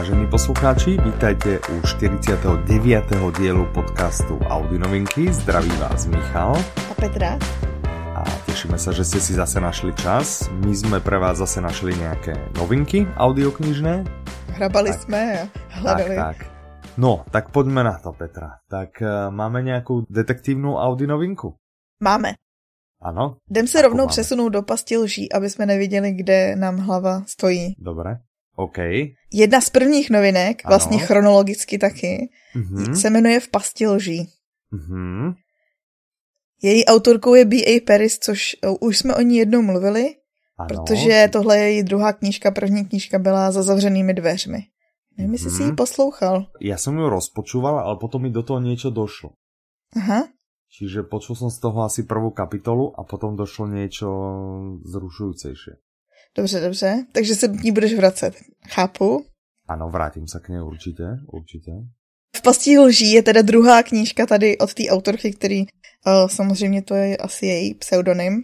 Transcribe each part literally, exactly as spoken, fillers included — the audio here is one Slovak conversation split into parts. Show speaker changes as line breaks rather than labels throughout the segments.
Vážení poslucháči, vítajte u štyridsiateho deviateho dielu podcastu Audionovinky. Zdraví vás Michal
a Petra.
A tešíme sa, že ste si zase našli čas. My sme pre vás zase našli nejaké novinky audioknižné.
Hrabali
tak,
sme a hľadali.
Tak, tak. No, tak poďme na to, Petra. Tak uh, máme nejakú detektívnu audionovinku?
Máme.
Ano?
Jdem se rovnou máme? přesunout do pasti lží, aby jsme neviděli, kde nám hlava stojí.
Dobre. OK.
Jedna z prvních novinek, ano. Vlastně chronologicky taky, mm-hmm. se jmenuje V pasti lží.
Mm-hmm.
Její autorkou je B A Paris, což už jsme o ní jednou mluvili, ano. Protože tohle je její druhá knížka, první knížka byla Za zavřenými dveřmi. Nevím, jestli mm-hmm. si ji poslouchal.
Ja som ju rozpočúval, ale potom mi do toho niečo došlo.
Aha.
Čiže počul som z toho asi prvú kapitolu a potom došlo niečo zrušujúcejšie.
Dobře, dobře. Takže se k ní budeš vracet. Chápu.
Ano, vrátím se k ní určitě, určitě.
V pasti lží je teda druhá knížka tady od té autorky, který uh, samozřejmě to je asi její pseudonym.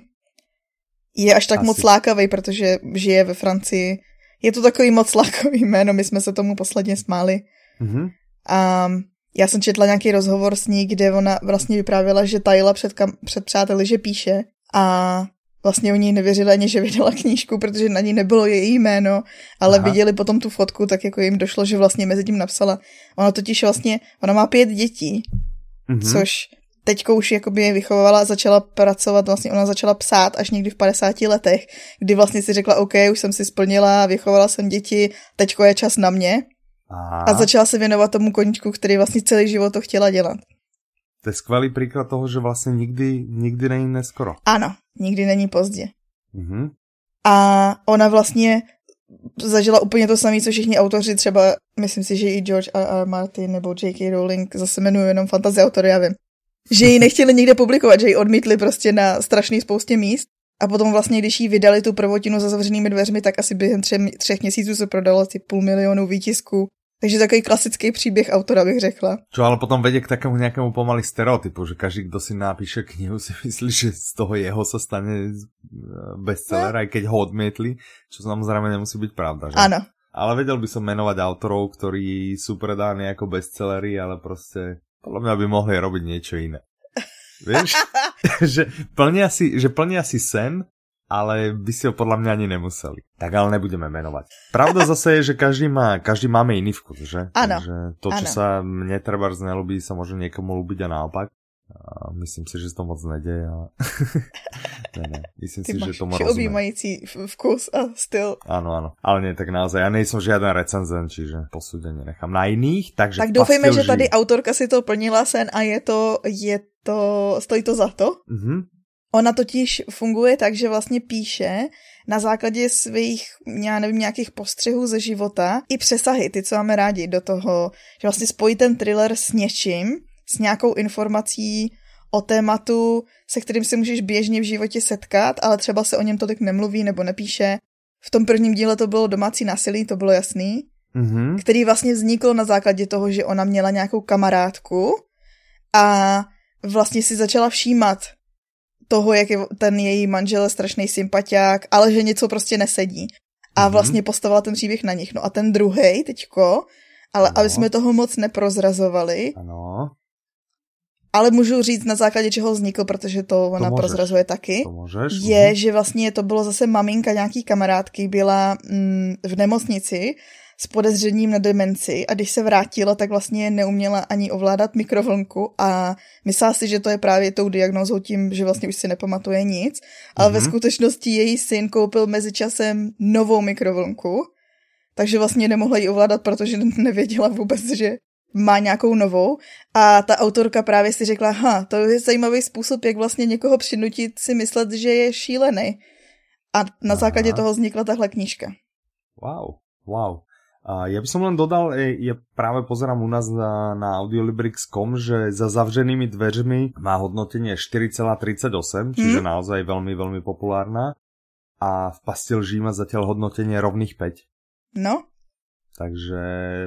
Je až tak asi moc lákavý, protože žije ve Francii. Je to takový moc lákavý jméno, my jsme se tomu posledně smáli. Mm-hmm. A já jsem četla nějaký rozhovor s ní, kde ona vlastně vyprávěla, že tajila před, kam, před přáteli, že píše a vlastně oni nevěřili ani, že vydala knížku, protože na ní nebylo její jméno, ale Aha. viděli potom tu fotku, tak jako jim došlo, že vlastně mezi tím napsala. Ona totiž vlastně, ona má pět dětí, mm-hmm. což teďko už jakoby je vychovala a začala pracovat, vlastně ona začala psát až někdy v padesáti letech, kdy vlastně si řekla, OK, už jsem si splnila, vychovala jsem děti, teďko je čas na mě. Aha. A začala se věnovat tomu koníčku, který vlastně celý život to chtěla dělat.
To je skvelý príklad toho, že vlastně nikdy, nikdy není neskoro.
Ano, nikdy není pozdě.
Mhm.
A ona vlastně zažila úplně to samé, co všichni autoři, třeba myslím si, že i George R R. Martin nebo J K. Rowling, zase jmenuji jenom fantasy autory, já vím, že ji nechtěli nikde publikovat, že ji odmítli prostě na strašný spoustě míst. A potom vlastně, když jí vydali tu prvotinu Za zavřenými dveřmi, tak asi během třech, třech měsíců se prodalo asi půl milionu výtisků. Takže takový klasický příběh autora, bych řekla.
Čo ale potom vedie k takému nejakému pomaly stereotypu, že každý, kto si napíše knihu, si myslí, že z toho jeho sa stane bestseller, no. Aj keď ho odmietli, čo samozrejme nemusí byť pravda, že?
Áno.
Ale vedel by som menovať autorov, ktorí sú predáni ako bestsellery, ale proste podľa mňa by mohli robiť niečo iné. Vieš? že, plnia si, že plnia si sen, ale by si ho podľa mňa ani nemuseli. Tak ale nebudeme menovať. Pravda zase je, že každý má, každý máme iný vkus, že?
Áno.
Takže to, čo ano. sa mne trebárs nelúbí, sa môže niekomu ľúbiť a naopak. A myslím si, že to moc nedeje, ale... ne, ne. Myslím
Ty
si,
máš
že tomu rozumiem.
objímající vkus a styl.
Áno, áno. Ale nie, tak naozaj, ja nejsem žiaden recenzent, čiže posúdenie nechám na iných, takže...
Tak doufejme, že tady autorka si to plnila sen a je to, je to, stojí to za to. Mhm. Ona totiž funguje tak, že vlastně píše na základě svých, já nevím, nějakých postřehů ze života i přesahy, ty, co máme rádi do toho, že vlastně spojí ten thriller s něčím, s nějakou informací o tématu, se kterým si můžeš běžně v životě setkat, ale třeba se o něm tolik nemluví nebo nepíše. V tom prvním díle to bylo domácí násilí, to bylo jasný, mm-hmm. který vlastně vznikl na základě toho, že ona měla nějakou kamarádku a vlastně si začala všímat toho, jak je ten její manžel strašný sympatiák, ale že něco prostě nesedí. A vlastně postavila ten příběh na nich. No a ten druhej teďko, ale ano. aby jsme toho moc neprozrazovali,
ano. ale
můžu říct na základě čeho vznikl, protože to ona to prozrazuje taky,
to můžeš.
je, uhum. že vlastně to bylo zase maminka nějaký kamarádky, byla mm, v nemocnici s podezřením na demenci a když se vrátila, tak vlastně neuměla ani ovládat mikrovlnku a myslela si, že to je právě tou diagnózou tím, že vlastně už si nepamatuje nic, ale mm-hmm. ve skutečnosti její syn koupil mezičasem novou mikrovlnku, takže vlastně nemohla ji ovládat, protože nevěděla vůbec, že má nějakou novou a ta autorka právě si řekla, ha, to je zajímavý způsob, jak vlastně někoho přinutit si myslet, že je šílený. A na Aha. základě toho vznikla tahle knížka.
Wow, wow. A ja by som len dodal, ja práve pozerám u nás na, na audiolibrix bodka com, že Za zavřenými dveřmi má hodnotenie štyri celá tridsaťosem, čiže hmm. naozaj veľmi, veľmi populárna. A V pasti lží má zatiaľ hodnotenie rovných päť.
No.
Takže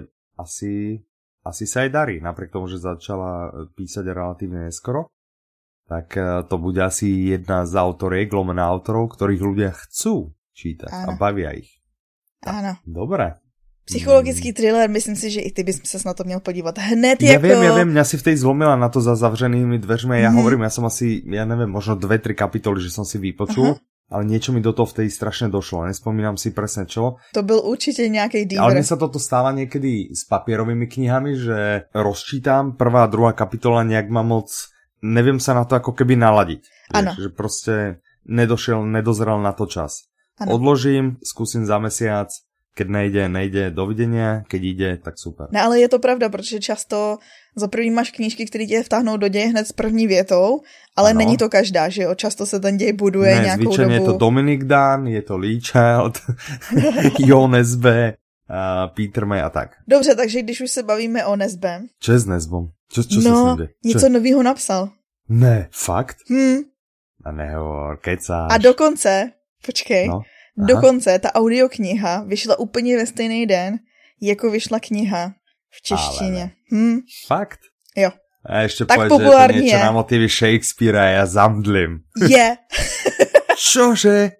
asi, asi sa aj darí, napriek tomu, že začala písať relatívne neskoro. Tak to bude asi jedna z autoriek, lomená autorov, ktorých ľudia chcú čítať Áno. a bavia ich.
Áno.
Dobre.
Psychologický thriller, myslím si, že i ty bys se na to měl podívat hned
ja
jako...
Ja viem, ja viem, mňa si v tej zlomila na to za zavřenými dveřmi. Ja mm. hovorím, ja som asi, ja neviem, možno dve, tri kapitoly, že som si vypočul, uh-huh. ale niečo mi do toho v tej strašne došlo. Nespomínam si presne čo.
To byl určite nejaký díver.
Ale mne sa toto stáva niekedy s papierovými knihami, že rozčítam prvá a druhá kapitola, nejak ma moc, neviem sa na to ako keby naladiť.
Áno.
Že proste nedošiel, nedozrel na to čas. Ano. Odložím, skúsim za mesiac. Keď nejde, nejde, dovidenia, keď ide, tak super.
No ale je to pravda, protože často za první máš knížky, které tě vtáhnou do děje hned s první větou, ale ano. Není to každá, že jo? Často se ten děj buduje ne, nějakou dobu. Ne,
je to Dominic Dunn, je to Lee Child, Jo Nesbø, uh, Peter May a tak.
Dobře, takže když už se bavíme o Nesbø.
Čo je s Nesbom? Čo, čo
no,
sa s
něco novýho napsal.
Ne, fakt?
Hm.
A nehovor, kecáš.
A dokonce, počkej,
no.
Dokonce ta audiokniha vyšla úplně ve stejný den, jako vyšla kniha v češtině. Hm.
Fakt?
Jo.
A ještě
tak
povedz, že je to niečo na motivy Shakespearea, ja zamdlím.
Je.
Čože?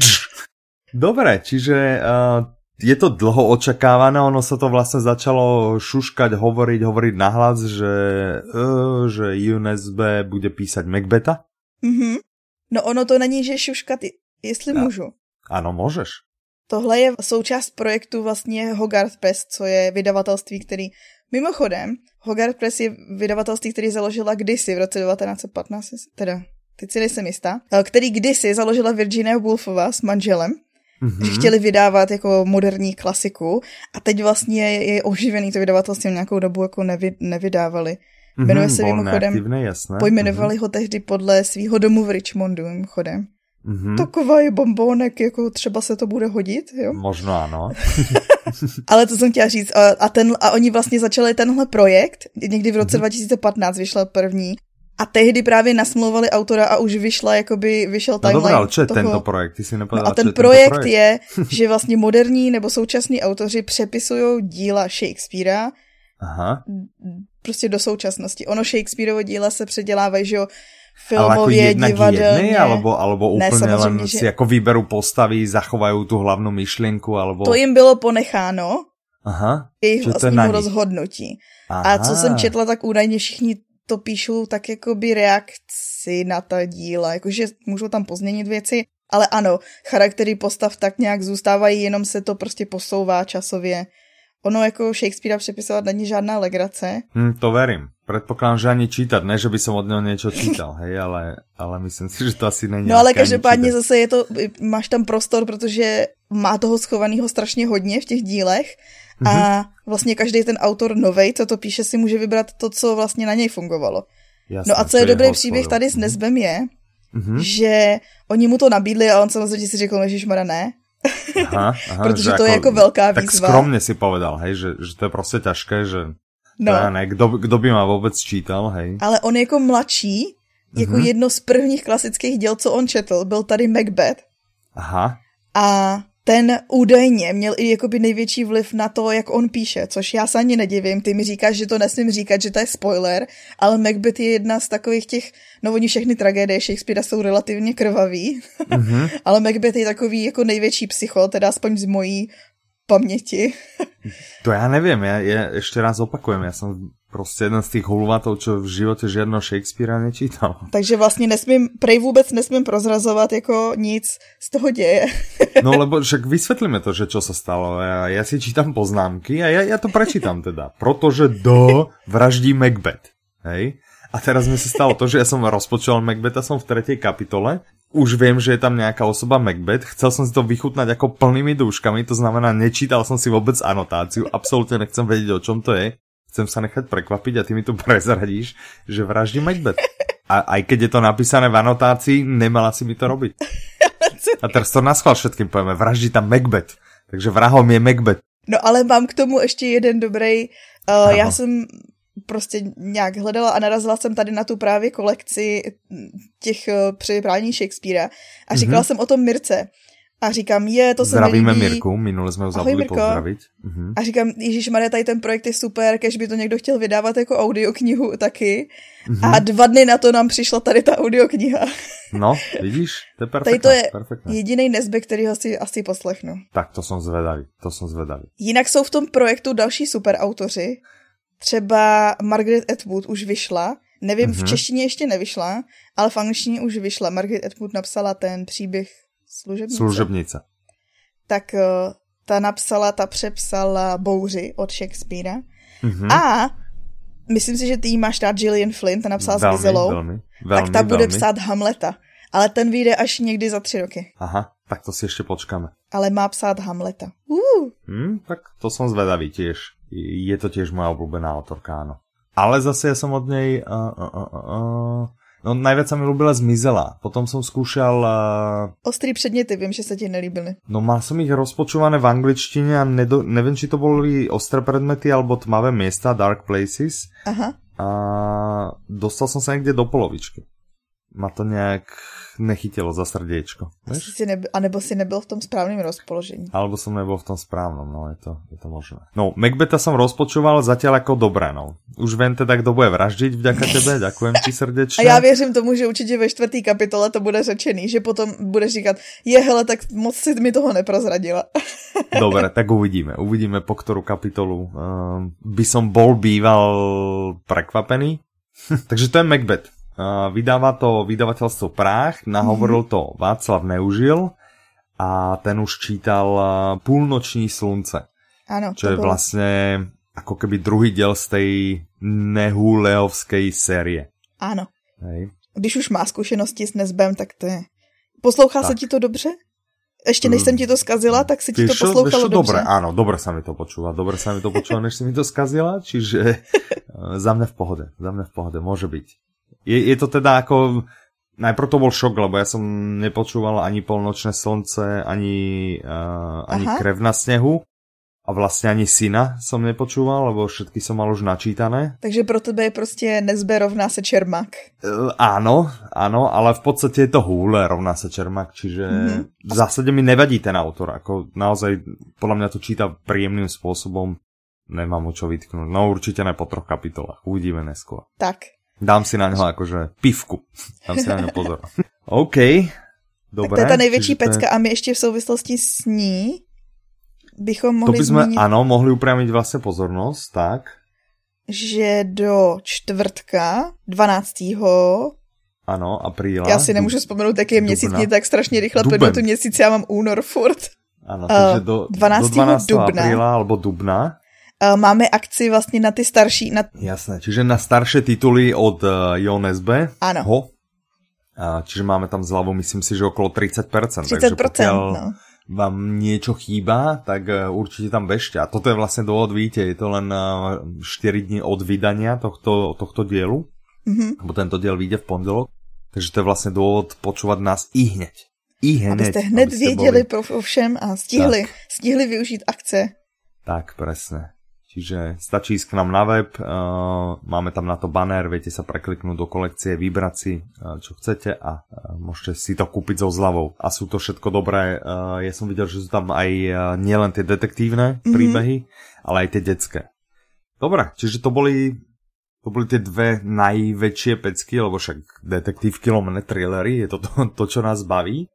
Dobre, čiže uh, je to dlho očakávané, ono sa to vlastne začalo šuškať, hovoriť, hovoriť nahlas, že, uh, že Jo Nesbø bude písať Macbeta?
Mhm. No ono to není, že šuškat, jestli no. můžu.
Ano, můžeš.
Tohle je součást projektu vlastně Hogarth Press, co je vydavatelství, který... Mimochodem, Hogarth Press je vydavatelství, který založila kdysi v roce devatenáct set patnáct, teda, teď si nejsem jistá, který kdysi založila Virginia Woolfová s manželem, mm-hmm. že chtěli vydávat jako moderní klasiku a teď vlastně je oživený to vydavatelství nějakou dobu jako nevy, nevydávali. Mm-hmm, Jmenuje se mimochodem, pojmenovali mm-hmm. ho tehdy podle svýho domu v Richmondu, mimochodem. Mm-hmm. Taková je bombónek, jako třeba se to bude hodit, jo?
Možno ano.
Ale to jsem chtěla říct. A, a, ten, a oni vlastně začali tenhle projekt, někdy v roce mm-hmm. dva tisíce patnáct vyšel první, a tehdy právě nasmlouvali autora a už vyšla, jakoby vyšel timeline.
No dobrá, ale čo je toho... tento projekt? Ty si nepovedala,
no a ten projekt, projekt je, že vlastně moderní nebo současní autoři přepisují díla Shakespearea
Aha.
prostě do současnosti. Ono Shakespeareovo díla se předělávají, že jo, filmově, divadelně.
Alebo, alebo úplně ne, len že... si jako výberu postavy, zachovají tu hlavnou myšlenku, alebo...
To jim bylo ponecháno.
Aha.
Jejich vlastnímu rozhodnutí. Aha. A co jsem četla, tak údajně všichni to píšou tak jakoby reakci na ta díla. Jakože můžou tam pozměnit věci, ale ano, charaktery postav tak nějak zůstávají, jenom se to prostě posouvá časově. Ono jako Shakespearea přepisovat není žádná legrace.
Hm, to verím. Predpokladám, že ani čítať, ne, že by som od neho niečo čítal, hej, ale, ale myslím si, že to asi není.
No ale každopádně zase je to, máš tam prostor, protože má toho schovaného strašně hodně v těch dílech mm-hmm. a vlastně každý ten autor novej, co to píše, si může vybrat to, co vlastně na něj fungovalo. Jasné, no a co je dobrý příběh tady s Nesbem je, mm-hmm. že oni mu to nabídli a on samozřejmě si řekl, ježišmarja, ne.
Aha, aha,
protože to ako, je jako velká výzva.
Tak skromne si povedal, hej, že, že to je prostě ťažké, že no. to ja ne, kdo, kdo by ma vůbec čítal, hej.
Ale on jako mladší, jako mm-hmm. jedno z prvních klasických děl, co on četl, byl tady Macbeth.
Aha.
A ten údajně měl i jakoby největší vliv na to, jak on píše, což já se ani nedivím. Ty mi říkáš, že to nesmím říkat, že to je spoiler, ale Macbeth je jedna z takových těch, no oni všechny tragédie Shakespearea jsou relativně krvavý, mm-hmm. ale Macbeth je takový jako největší psycho, teda aspoň z mojí paměti.
To já nevím, já, já ještě raz opakujem, já jsem prostě jeden z těch hulvatov, čo v životě žiadného Shakespearea nečítal.
Takže vlastně nesmím, prej vůbec nesmím prozrazovat jako nic z toho děje.
No lebo však vysvětlíme to, že čo sa stalo. Já, já si čítam poznámky a já, já to prečítam teda. Protože do vraždí Macbeth. Hej? A teraz mi se stalo to, že ja som rozpočul Macbetha, som v tretej kapitole. Už viem, že je tam nejaká osoba Macbeth. Chcel som si to vychutnať ako plnými dúškami, to znamená, nečítal som si vôbec anotáciu. Absolútne nechcem vedieť, o čom to je. Chcem sa nechať prekvapiť a ty mi tu prezradíš, že vraždí Macbeth. A aj keď je to napísané v anotácii, nemala si mi to robiť. A teraz to naschvál všetkým povieme, vraždí tam Macbeth. Takže vrahom je Macbeth.
No ale mám k tomu ještě jeden dobrý. Uh, já jsem prostě nějak hledala a narazila jsem tady na tu právě kolekci těch uh, přeprání Shakespearea a říkala mm-hmm. jsem o tom Mirce. A říkám, je, to se mi líbí.
Zdravíme Mirku, minule jsme ho zabudli pozdravit.
Uh-huh. A říkám, ježišmarja, tady ten projekt je super, kež by to někdo chtěl vydávat jako audioknihu taky. Uh-huh. A dva dny na to nám přišla tady ta audiokniha.
No, vidíš? To je perfektné.
Tady to je
perfektné.
jedinej Nesbe, kterýho si asi poslechnu.
Tak to som zvedavý, to som zvedavý.
Jinak jsou v tom projektu další superautoři. Třeba Margaret Atwood už vyšla. Nevím, mm-hmm. v češtině ještě nevyšla, ale v angličtině už vyšla. Margaret Atwood napsala ten příběh Služebnice.
Služebnice.
Tak ta napsala, ta přepsala Bouři od Shakespearea. Mm-hmm. A myslím si, že ty jí máš rád Gillian Flynn, ta napsala velmi, s Gizelou. Velmi, velmi, tak ta bude velmi. psát Hamleta. Ale ten vyjde až někdy za tři roky.
Aha, tak to si ještě počkáme.
Ale má psát Hamleta. Uh.
Hmm, tak to som zvedavý tiež. Je to tiež moja obľúbená autorka, áno. Ale zase ja som od nej... Uh, uh, uh, uh, no najviac sa mi ľúbila Zmizela. Potom som skúšal... Uh,
Ostrý předměty, viem, že sa ti nelíbili.
No mal som ich rozpočúvané v angličtine a nedo, neviem, či to boli Ostré predmety alebo Tmavé miesta, Dark Places.
Aha.
A dostal som sa niekde do polovičky. Ma to nejak nechytilo za srdiečko.
Si neby, a nebo si nebyl v tom správnym rozpoložení.
Alebo som nebol v tom správnom, no je to, je to možné. No, Macbeta som rozpočúval zatiaľ ako dobré, no. Už viem teda, kto bude vraždiť vďaka tebe, ďakujem ti srdečne.
A ja věřím tomu, že určitě ve čtvrtý kapitole to bude řečený, že potom budeš říkat, je hele, tak moc si mi toho neprozradila.
Dobre, tak uvidíme. Uvidíme, po ktorú kapitolu uh, by som bol býval prekvapený. Takže to je Macbeth. Uh, vydáva to vydavateľstvo Práh, nahovoril to Václav Neužil a ten už čítal uh, Púlnoční slunce.
Áno,
čo je bolo vlastne ako keby druhý diel z tej Nehuleovskej série.
Áno.
Hej.
Když už má zkušenosti s Nesbem, tak to je... Poslouchá tak. sa ti to dobře? Ešte než som ti to skazila, tak si ti to poslouchalo dobře.
Dobre, áno, dobre sa mi to počúva. Dobre sa mi to počúva, než si mi to skazila, čiže uh, za mňa v pohode. Za mňa v pohode, môže byť. Je, je to teda ako... Najprv to bol šok, lebo ja som nepočúval ani Polnočné slnce, ani, uh, ani Krev na snehu. A vlastne ani Syna som nepočúval, lebo všetky som mal už načítané.
Takže pro tebe je proste Nesbe rovná sa Čermák.
Uh, áno, áno, ale v podstate je to Hule rovná sa Čermák, čiže mm-hmm. v zásade mi nevadí ten autor. Ako naozaj, podľa mňa to číta príjemným spôsobom. Nemám mu čo vytknúť. No určite ne po troch kapitolách. Uvidíme neskôr.
Tak.
Dám si na ňo akože pivku. Dám si na ňo pozor. OK. Dobre.
Tak to je tá nejväčší pecka a my ešte v souvislosti s ní bychom mohli
to by sme,
zmínit...
áno, mohli upriamiť vlastne pozornosť, tak.
Že do čtvrtka dvanáctého
Áno, apríla.
Já si nemůžu vzpomenout, jaký je měsíc, mě tak strašně rychle plynou tu měsíc, já mám únor furt.
Áno, takže do,
dvanáctého
do dvanáctého
dubna
apríla alebo dubna.
Máme akci vlastně na ty starší... Na...
Jasné, čiže na staršie tituly od uh, Jo Nesbe.
Áno.
Ho. Uh, čiže máme tam zľavu, myslím si, že okolo tridsať percent.
tridsať percent,
takže pokiaľ
no.
vám niečo chýba, tak uh, určite tam bežte. A toto je vlastne dôvod, vidíte, je to len uh, štyri dni od vydania tohto, tohto dielu. Mm-hmm. Lebo tento diel vyjde v pondelok. Takže to je vlastne dôvod počúvať nás i hneď. I hneď.
Abyste hned abyste věděli boli... pro všem a stihli, stihli využít akce.
Tak, presne. Čiže stačí ísť k nám na web, uh, máme tam na to banner, viete sa prekliknúť do kolekcie, vybrať si, uh, čo chcete a uh, môžete si to kúpiť so zľavou. A sú to všetko dobré. Uh, ja som videl, že sú tam aj uh, nielen tie detektívne mm-hmm. príbehy, ale aj tie detské. Dobre, čiže to boli, to boli tie dve najväčšie pecky, lebo však detektívky lomené thrillery, je to to, to, čo nás baví.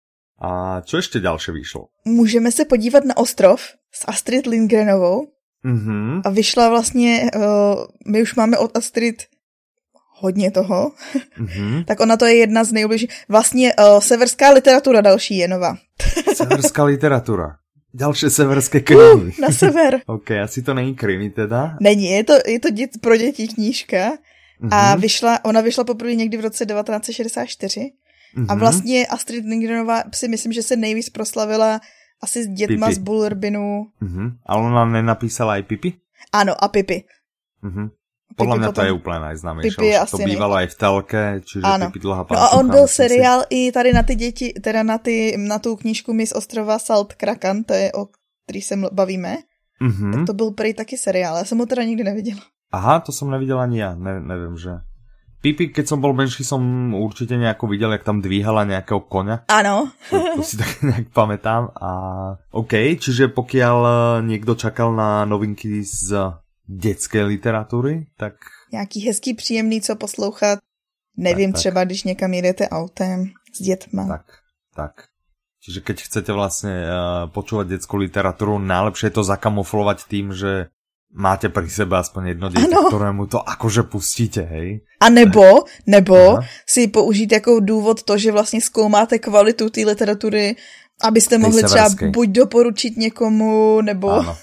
A čo ešte ďalšie vyšlo?
Můžeme se podívat na Ostrov s Astrid Lindgrenovou. Mm-hmm. A vyšla vlastně, uh, my už máme od Astrid hodně toho, mm-hmm. tak ona to je jedna z nejbližších. Vlastně uh, severská literatura další je nová.
Severská literatura. Další severské krimi.
Uh, na sever.
Ok, asi to není krimi teda.
Není, je to, je to dět, pro děti knížka mm-hmm. a vyšla, ona vyšla poprvé někdy v roce devatenáct set šedesát čtyři mm-hmm. a vlastně Astrid Lindgrenová si myslím, že se nejvíc proslavila asi s dětma Pipi. Z Bullerbinu. Uh-huh.
Ale ona nenapísala aj Pipi?
Áno, a Pipi.
Uh-huh. Podľa mňa potom... to je úplne najznámejšie. To bývalo aj v telke, čiže áno. Pipi dlhá pánčucha.
No a on byl seriál si... i tady na ty děti, teda na, ty, na tu knížku Miss Ostrova Salt Krakan, to je o který se bavíme. Uh-huh. Tak to byl prej taky seriál, já jsem ho teda nikdy neviděla.
Aha, to som nevidel ani ja, ne, neviem, že... Pipi, keď som bol menší, som určite nejako videl, jak tam dvíhala nejakého koňa.
Áno.
To, to si tak nejak pamätám. A OK, čiže pokiaľ niekto čakal na novinky z detskej literatúry, tak...
Nějaký hezký, příjemný, co poslouchat Nevím,
tak,
třeba
tak.
když někam jedete autem s dětma.
Tak, tak. Čiže keď chcete vlastne uh, počúvať detskú literatúru, najlepšie je to zakamuflovať tým, že máte pri sebe aspoň jedno dieťa, ano. Ktorému to akože pustíte, hej?
A nebo, nebo si použít jako důvod to, že vlastně zkoumáte kvalitu té literatury, abyste mohli třeba buď doporučit někomu, nebo...
Áno.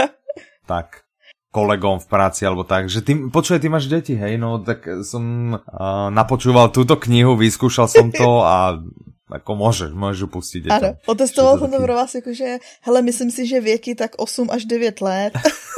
Tak, kolegom v práci, alebo tak, že ty, počuj, ty máš deti, hej, no tak som uh, napočúval túto knihu, vyskúšal som to a ako môžeš, môžeš pustiť deťom.
Ano, otestoval som to pro vás, jakože, hele, myslím si, že věky tak osm až devět let.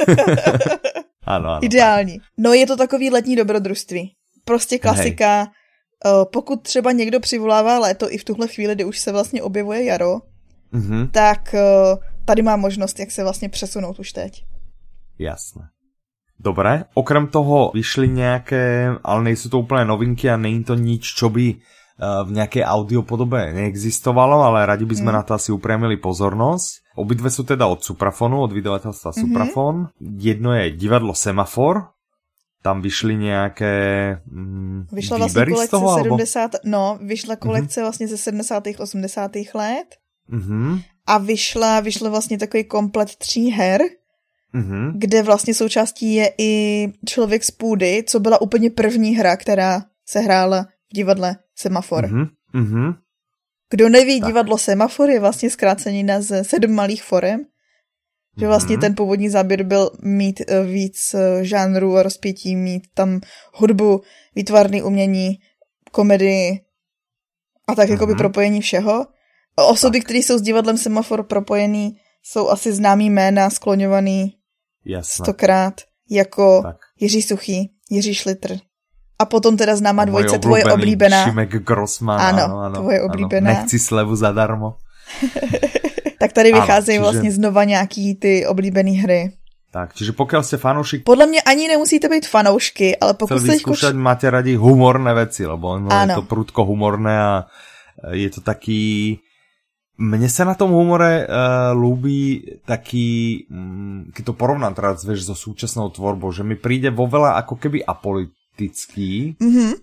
Ano, ano.
Ideální. Tak. No je to takový letní dobrodružství. Prostě klasika. Hej. Pokud třeba někdo přivolává léto i v tuhle chvíli, kdy už se vlastně objevuje jaro, mm-hmm. tak tady má možnost, jak se vlastně přesunout už teď.
Jasné. Dobre, okrem toho vyšli nejaké, ale nejsú to úplne novinky a nie je to nič, čo by v nejakej audiopodobe neexistovalo, ale radi by sme mm. na to asi upriamili pozornosť. Obidve sú teda od Suprafonu, od vydavateľstva mm-hmm. Suprafon. Jedno je divadlo Semafor, tam vyšli nejaké mm,
vyšla vlastně kolekce toho, sedmdesát, alebo... no, vyšla kolekce mm-hmm. vlastně ze sedmdesátých osmdesátých let mm-hmm. a vyšla, vyšla vlastně takový komplet tří her, mm-hmm. kde vlastně součástí je i Člověk z půdy, co byla úplně první hra, která se hrála v divadle Semafor. Mm-hmm. Mm-hmm. Kdo neví, tak. Divadlo Semafor je vlastně zkrácenina ze sedm malých forem, že vlastně mm-hmm. ten původní záběr byl mít víc žánrů a rozpětí, mít tam hudbu, výtvarné umění, komedii a tak mm-hmm. jakoby propojení všeho. Osoby, které jsou s divadlem Semafor propojený, jsou asi známý jména, skloňovaný Jasne. stokrát, jako tak. Jiří Suchý, Jiří Šlitr. A potom teda známá dvojce Tvoje oblíbená.
Šimek Grossman.
Ano,
ano, ano
Tvoje oblíbená.
Ano, nechci slevu zadarmo. Tak
tady vycházejí čiže... vlastně znova nějaký ty oblíbený hry.
Tak, čiže pokiaľ ste fanúšik...
Podľa mňa ani nemusíte být fanoušky, ale pokud
chcel vyskúšať, kuč... máte radi humorné veci, lebo no, je to prudko humorné a je to taký... Mne sa na tom humore uh, ľúbi taký, um, keď to porovnám teraz, vieš, so súčasnou tvorbou, že mi príde vo veľa ako keby apolitický, mm-hmm.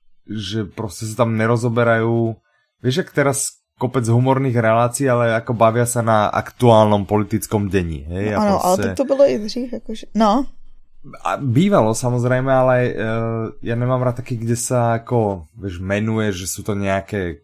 že proste sa tam nerozoberajú, vieš, ak teraz kopec humorných relácií, ale ako bavia sa na aktuálnom politickom deni. Hej?
No, ano, proste... ale tak to bylo i dřív, akože, no.
A bývalo samozrejme, ale uh, ja nemám rád taký, kde sa ako, vieš, menuje, že sú to nejaké...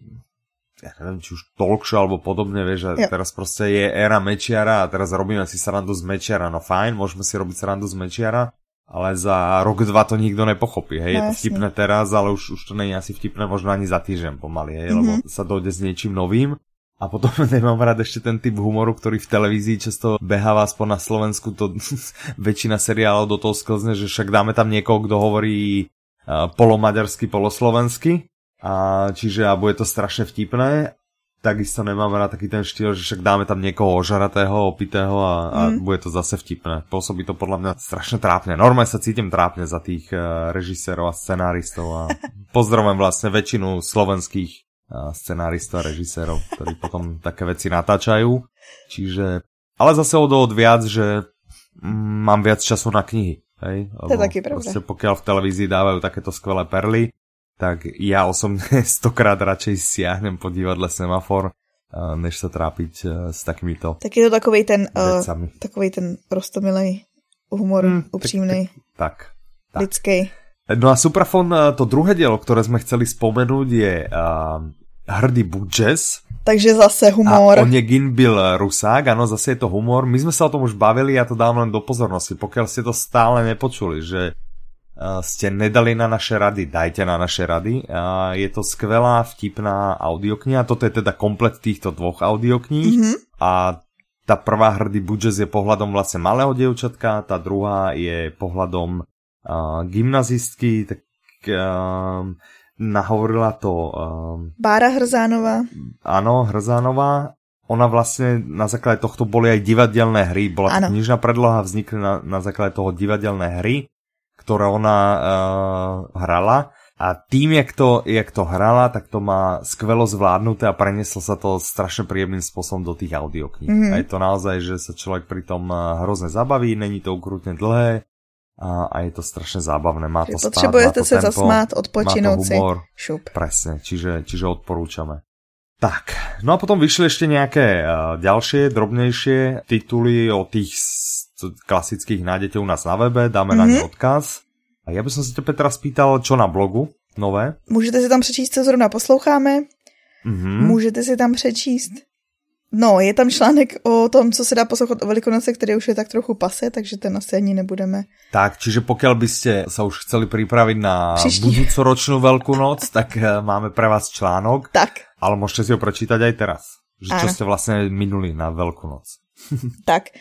ja neviem, či už talk show alebo podobne, vieš, a jo. Teraz proste je éra Mečiara a teraz robíme si srandu z Mečiara, no fajn, môžeme si robiť srandu z Mečiara, ale za rok, dva to nikto nepochopí, hej, no, je to vtipné teraz, ale už, už to nie je asi vtipné, možno ani za týždeň pomaly, hej, mm-hmm. lebo sa dojde s niečím novým. A potom nemám rád ešte ten typ humoru, ktorý v televízii často beháva, aspoň na Slovensku, to väčšina seriálov do toho sklzne, že však dáme tam niekoho, kto hovorí uh, polomaďarsky, poloslovensky. A čiže a bude to strašne vtipné, takisto nemám rád taký ten štýl, že však dáme tam niekoho ožaratého, opitého a, a mm. bude to zase vtipné. Pôsobí to podľa mňa strašne trápne. Normálne sa cítim trápne za tých uh, režisérov a scenáristov a pozdravujem vlastne väčšinu slovenských uh, scenáristov a režisérov, ktorí potom také veci natáčajú. Čiže, ale zase od od viac, že mm, mám viac času na knihy. Hej?
To je taký pravda. Proste
pokiaľ v televízii dávajú takéto skvelé perly, tak ja osobne stokrát radšej siahnem po divadle Semafor, než sa trápiť s takýmito Tak
je to takovej ten, uh, takovej ten prostomilej humor, hmm, upřímnej,
tak, tak,
lidskej.
No a Suprafon, to druhé dielo, ktoré sme chceli spomenúť, je uh, Hrdý Budžes.
Takže zase humor.
A Onegin byl Rusák, áno, zase je to humor. My sme sa o tom už bavili, ja to dám len do pozornosti, pokiaľ ste to stále nepočuli, že ste nedali na naše rady, dajte na naše rady. Je to skvelá, vtipná audiokniha. Toto je teda komplet týchto dvoch audiokníh. Mm-hmm. A tá prvá Hrdý Budžes je pohľadom vlastne malého dievčatka, tá druhá je pohľadom uh, gymnazistky, tak uh, nahovorila to... Uh,
Bára Hrzánová.
Áno, Hrzánová. Ona vlastne na základe tohto boli aj divadelné hry. Bola to knižná predloha, vznikli na, na základe toho divadelné hry, ktoré ona uh, hrala a tým, jak to, jak to hrala, tak to má skvelo zvládnuté a prenieslo sa to strašne príjemným spôsobom do tých audiokníh. Mm-hmm. A je to naozaj, že sa človek pri tom hrozne zabaví, není to ukrutne dlhé, a, a je to strašne zábavné. Má to spát,
potrebujete
má to
sa
tempo,
zasmát, odpočinout si.
Šup. Presne, čiže, čiže odporúčame. Tak, no a potom vyšli ešte nejaké uh, ďalšie, drobnejšie tituly o tých klasických nájdete u nás na webe, dáme mm-hmm. na ne odkaz. A ja by som si tebe teraz spýtal, čo na blogu nové?
Můžete si tam přečíst, co zrovna posloucháme. Mm-hmm. Můžete si tam přečíst. No, je tam článek o tom, co se dá poslouchat o Velikonoce, který už je tak trochu pase, takže ten asi ani nebudeme.
Tak, čiže pokiaľ by ste sa už chceli pripraviť na budúcoročnú Veľkú noc, tak máme pre vás článok.
Tak.
Ale môžete si ho prečítať aj teraz. Že čo ste vlastne minuli na Veľkú noc.
Tak.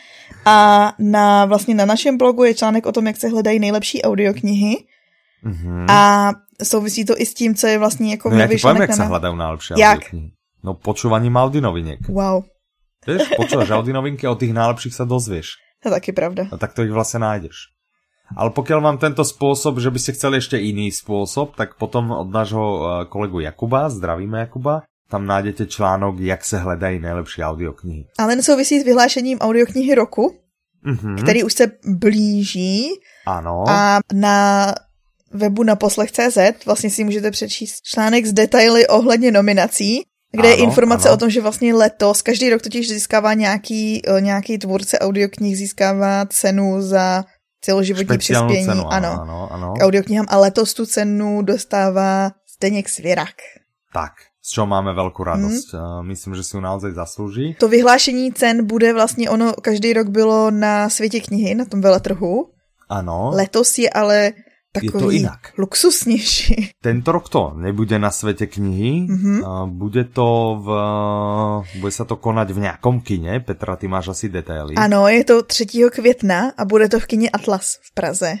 A na, vlastně na našem blogu je článek o tom, jak se hledají nejlepší audioknihy. Mm-hmm. A souvisí to i s tím, co je vlastně jako...
No ja ti poviem, jak na... sa hľadajú najlepšie audioknihy. No počúvaním Audionoviniek.
Wow.
Vieš, počúvaš Audionovinky a o tých najlepších sa dozvieš.
To je taky pravda.
No tak to ich vlastne nájdeš. Ale pokiaľ vám tento spôsob, že by ste chceli ešte iný spôsob, tak potom od nášho kolegu Jakuba, zdravíme Jakuba, tam nájdete článok, jak se hledají nejlepší audioknihy.
Ale nesouvisí s vyhlášením audioknihy roku, mm-hmm. který už se blíží.
Ano.
A na webu naposlech tečka cé zet vlastně si můžete přečíst článek s detaily ohledně nominací, kde ano, je informace ano. o tom, že vlastně letos, každý rok totiž získává nějaký, nějaký tvůrce audioknih, získává cenu za celoživotní
Špeciálnu
přispění
cenu,
ano,
ano, ano.
k audioknihám a letos tu cenu dostává Zdeněk Svěrak.
Tak, z čeho máme velkou radost. Hmm. Myslím, že si ju naozaj zaslúži.
To vyhlášení cen bude vlastně, ono každý rok bylo na Světě knihy, na tom veletrhu.
Ano.
Letos je ale takový luxusnější.
Tento rok to nebude na Svete knihy, mm-hmm. bude to v, bude sa to konať v nejakom kine. Petra, ty máš asi detaily.
Ano, je to třetího května a bude to v kině Atlas v Praze.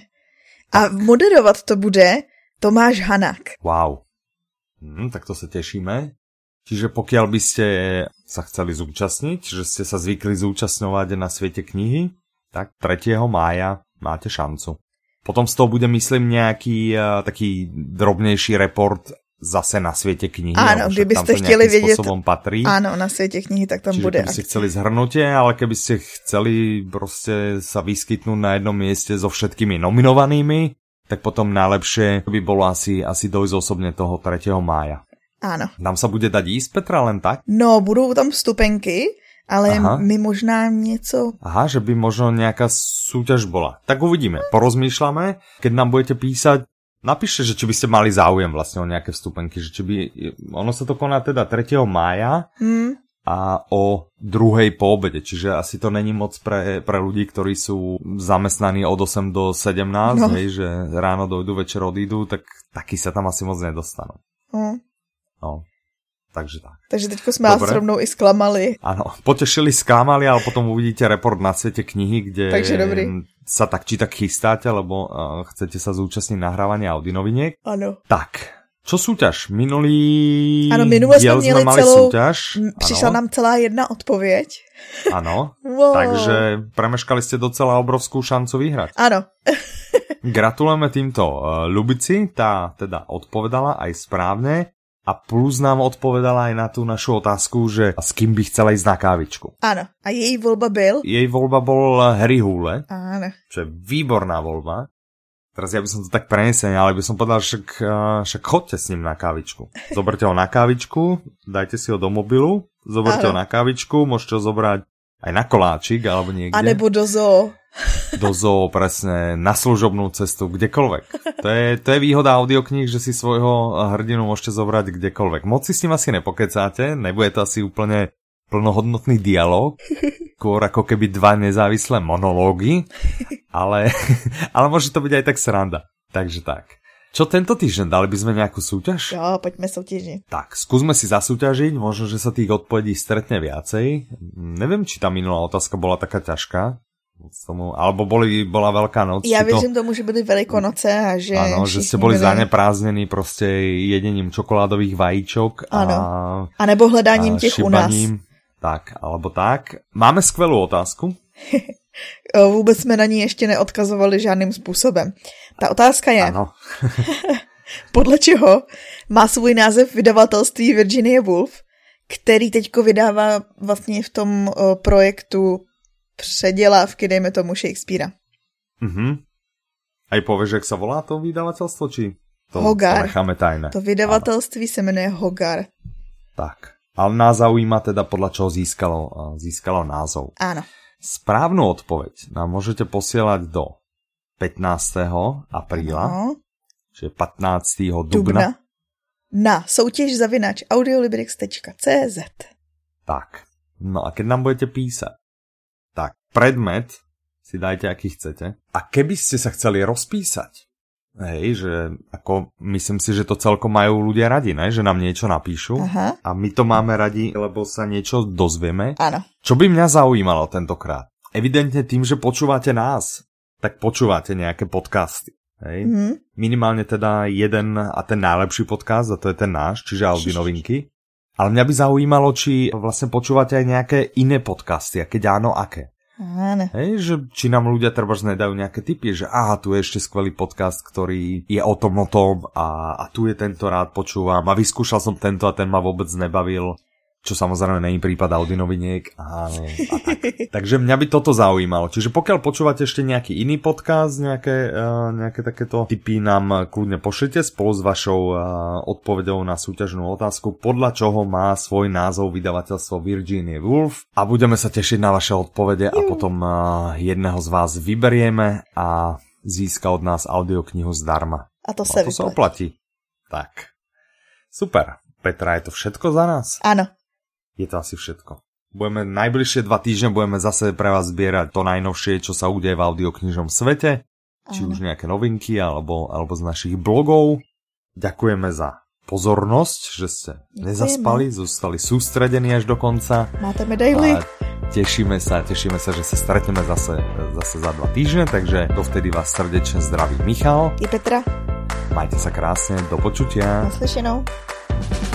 A tak. Moderovat to bude Tomáš Hanák.
Wow. Hm, tak to sa tešíme. Čiže pokiaľ by ste sa chceli zúčastniť, že ste sa zvykli zúčastňovať na Svete knihy, tak tretieho mája máte šancu. Potom z toho bude, myslím, nejaký uh, taký drobnejší report zase na Svete knihy.
Áno, kdybyste chtěli vědět,
patrí.
Áno, na Svete knihy, tak tam
Čiže
bude.
Čiže keby ste chceli zhrnutie, ale keby ste chceli proste sa vyskytnúť na jednom mieste so všetkými nominovanými, tak potom najlepšie by bolo asi, asi dojsť osobne toho tretieho mája.
Áno.
Tam sa bude dať ísť, Petra, len tak?
No, budou tam vstupenky, ale Aha. my možná něco...
Aha, že by možno nejaká súťaž bola. Tak uvidíme, porozmýšľame. Keď nám budete písať, napíšte, že či by ste mali záujem vlastne o nejaké vstupenky, že či by... Ono sa to koná teda tretieho mája hmm. a o druhej po obede, čiže asi to není moc pre, pre ľudí, ktorí sú zamestnaní od osem do sedemnásť, no. Hej, že ráno dojdu, večer odídu, tak taky sa tam asi moc nedostanú. Hmm. No. Takže tak.
Takže teďko sme vás rovnou i sklamali.
Áno, potešili, sklamali, ale potom uvidíte report na Svete knihy, kde sa tak či tak chystáte, lebo uh, chcete sa zúčastniť nahrávania Audionoviniek.
Áno.
Tak, čo súťaž? Minulý
ano, minule diel sme mali celou,
súťaž.
Prišla ano. nám celá jedna odpoveď.
Áno,
wow.
Takže premeškali ste docela obrovskú šancu vyhrať.
Áno.
Gratulujeme týmto uh, Ľubici, tá teda odpovedala aj správne. A plus nám odpovedala aj na tú našu otázku, že s kým by chcela ísť na kávičku.
Áno. A jej voľba byl?
Jej voľba bol Harry Hule.
Áno.
Čo je výborná voľba. Teraz ja by som to tak prenesený, ale by som povedal, však, však chodte s ním na kávičku. Zoberte ho na kávičku, dajte si ho do mobilu, zoberte Áno. ho na kávičku, môžete ho zobrať aj na koláčik, alebo niekde.
A nebo do zoo.
Do zoo, presne, na služobnú cestu, kdekoľvek. To je, to je výhoda audiokníh, že si svojho hrdinu môžete zobrať kdekoľvek. Moc si s ním asi nepokecáte, nebude to asi úplne plnohodnotný dialog, skôr ako keby dva nezávislé monológy, ale, ale môže to byť aj tak sranda. Takže tak. Čo tento týždeň? Dali by sme nejakú súťaž?
Jo, poďme súťažiť.
Tak, skúsme si zasúťažiť, možno, že sa tých odpovedí stretne viacej. Neviem, či tá minulá otázka bola taká ťažká. Tomu, alebo boli, bola Veľká noc.
Ja věřím to... tomu, že byly Velikonoce a že...
Áno, že ste boli byli... zaneprázdnení proste jedením čokoládových vajíčok a...
A nebo hledáním a těch
šibaním.
U nás.
Tak, alebo tak. Máme skvelú otázku.
Vůbec jsme na ní ještě neodkazovali žádným způsobem. Ta otázka je...
Ano.
Podle čeho má svůj název vydavatelství Virginia Woolf, který teďko vydává vlastně v tom uh, projektu předělávky, dejme tomu Shakespearea.
Mhm. Aj povieš, jak sa volá to vydavateľstvo, či to,
Hogar.
To necháme tajné?
To vydavatelství se jmenuje Hogar.
Tak. Ale nás zaujíma teda, podľa čoho získalo, získalo názov.
Áno.
Správnu odpoveď nám môžete posielať do pätnásteho apríla, ano. Čiže pätnásteho dubna.
dubna. Na soutěž zavinač audiolibrix tečka cé zet.
Tak. No a keď nám budete písať, tak predmet si dajte, aký chcete. A keby ste sa chceli rozpísať, hej, že ako myslím si, že to celkom majú ľudia radi, ne? Že nám niečo napíšu. Aha. A my to máme radi, lebo sa niečo dozvieme.
Áno.
Čo by mňa zaujímalo tentokrát? Evidentne tým, že počúvate nás, tak počúvate nejaké podcasty. Hej? Mm-hmm. Minimálne teda jeden a ten najlepší podcast, a to je ten náš, čiže Audi novinky. Ale mňa by zaujímalo, či vlastne počúvate aj nejaké iné podcasty, a keď áno, aké.
Áno.
Hej, že či nám ľudia trebárs nedajú nejaké tipy, že aha, tu je ešte skvelý podcast, ktorý je o tom, o tom a, a tu je tento rád počúvam a vyskúšal som tento a ten ma vôbec nebavil. Čo samozrejme nie je prípad Audi noviniek. Áno, a tak. Takže mňa by toto zaujímalo. Čiže pokiaľ počúvate ešte nejaký iný podcast, nejaké, uh, nejaké takéto tipy nám kľudne pošlite spolu s vašou uh, odpoveďou na súťažnú otázku, podľa čoho má svoj názov vydavateľstvo Virginia Woolf. A budeme sa tešiť na vaše odpovede a potom uh, jedného z vás vyberieme a získa od nás audioknihu zdarma.
A to sa,
a to sa oplatí. Tak. Super. Petra, je to všetko za nás?
Áno.
Je to asi všetko. Budeme najbližšie dva týždne budeme zase pre vás zbierať to najnovšie, čo sa udeje v audioknižnom svete. Áno. Či už nejaké novinky, alebo, alebo z našich blogov. Ďakujeme za pozornosť, že ste Ďakujeme. nezaspali, zostali sústredení až do konca.
Máte medaily.
A tešíme sa, tešíme sa, že sa stretneme zase, zase za dva týždne, takže dovtedy vás srdečne zdraví Michal.
I Petra.
Majte sa krásne, do počutia.
Naslyšenou.